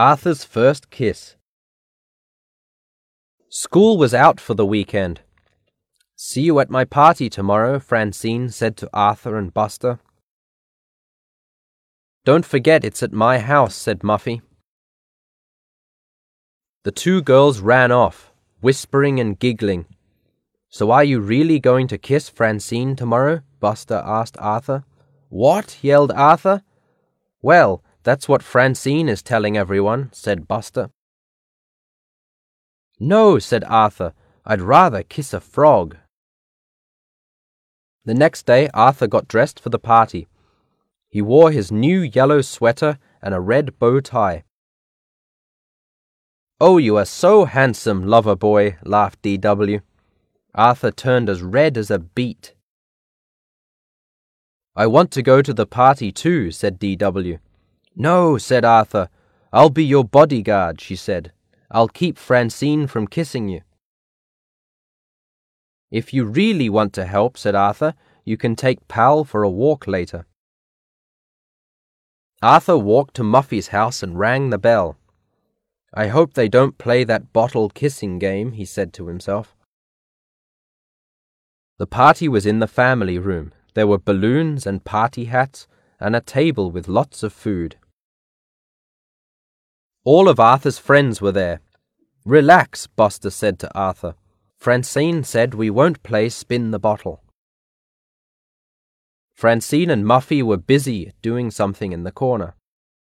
Arthur's first kiss. School was out for the weekend. "See you at my party tomorrow," Francine said to Arthur and Buster. "Don't forget it's at my house," said Muffy. The two girls ran off, whispering and giggling. "So are you really going to kiss Francine tomorrow?" Buster asked Arthur. "What?" yelled Arthur. "Well, that's what Francine is telling everyone," said Buster. "No," said Arthur, "I'd rather kiss a frog." The next day Arthur got dressed for the party. He wore his new yellow sweater and a red bow tie. "Oh, you are so handsome, lover boy," laughed D.W. Arthur turned as red as a beet. "I want to go to the party too," said D.W. "No," said Arthur. "I'll be your bodyguard," she said. "I'll keep Francine from kissing you." "If you really want to help," said Arthur, "you can take Pal for a walk later." Arthur walked to Muffy's house and rang the bell. "I hope they don't play that bottle kissing game," he said to himself. The party was in the family room. There were balloons and party hats and a table with lots of food. All of Arthur's friends were there. "Relax," Buster said to Arthur. "Francine said we won't play spin the bottle." Francine and Muffy were busy doing something in the corner.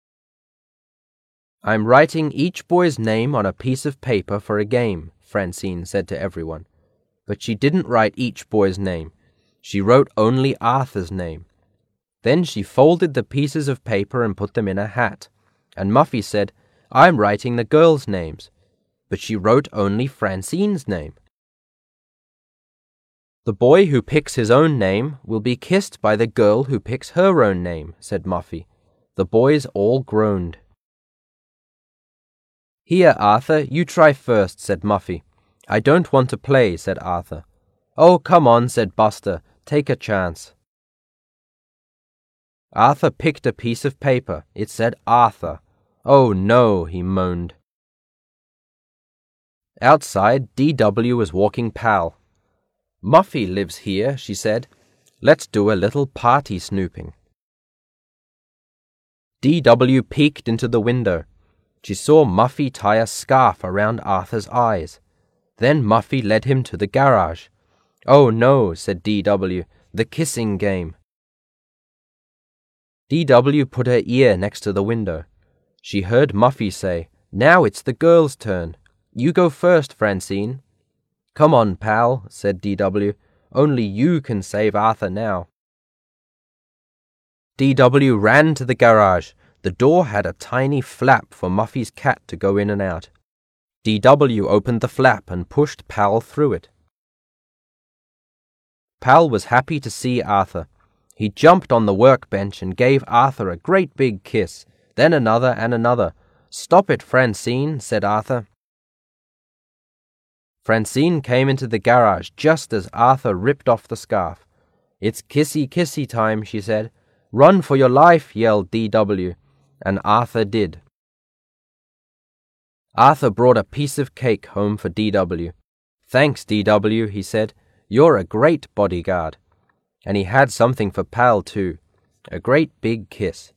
"I'm writing each boy's name on a piece of paper for a game," Francine said to everyone. But she didn't write each boy's name. She wrote only Arthur's name. Then she folded the pieces of paper and put them in a hat. And Muffy said, "I'm writing the girls' names." But she wrote only Francine's name. "The boy who picks his own name will be kissed by the girl who picks her own name," said Muffy. The boys all groaned. "Here, Arthur, you try first," said Muffy. "I don't want to play," said Arthur. "Oh, come on," said Buster. "Take a chance." Arthur picked a piece of paper. It said Arthur. "Oh no," he moaned. Outside, D.W. was walking Pal. "Muffy lives here," she said. "Let's do a little party snooping." D.W. peeked into the window. She saw Muffy tie a scarf around Arthur's eyes. Then Muffy led him to the garage. "Oh no," said D.W., "the kissing game." D.W. put her ear next to the window. She heard Muffy say, "Now it's the girls' turn. You go first, Francine." "Come on, Pal," said D.W. "Only you can save Arthur now." D.W. ran to the garage. The door had a tiny flap for Muffy's cat to go in and out. D.W. opened the flap and pushed Pal through it. Pal was happy to see Arthur. He jumped on the workbench and gave Arthur a great big kiss, then another and another. "Stop it, Francine," said Arthur. Francine came into the garage just as Arthur ripped off the scarf. "It's kissy time," she said. "Run for your life," yelled D.W., and Arthur did. Arthur brought a piece of cake home for D.W. "Thanks, D.W., he said. "You're a great bodyguard." And he had something for Pal, too, a great big kiss.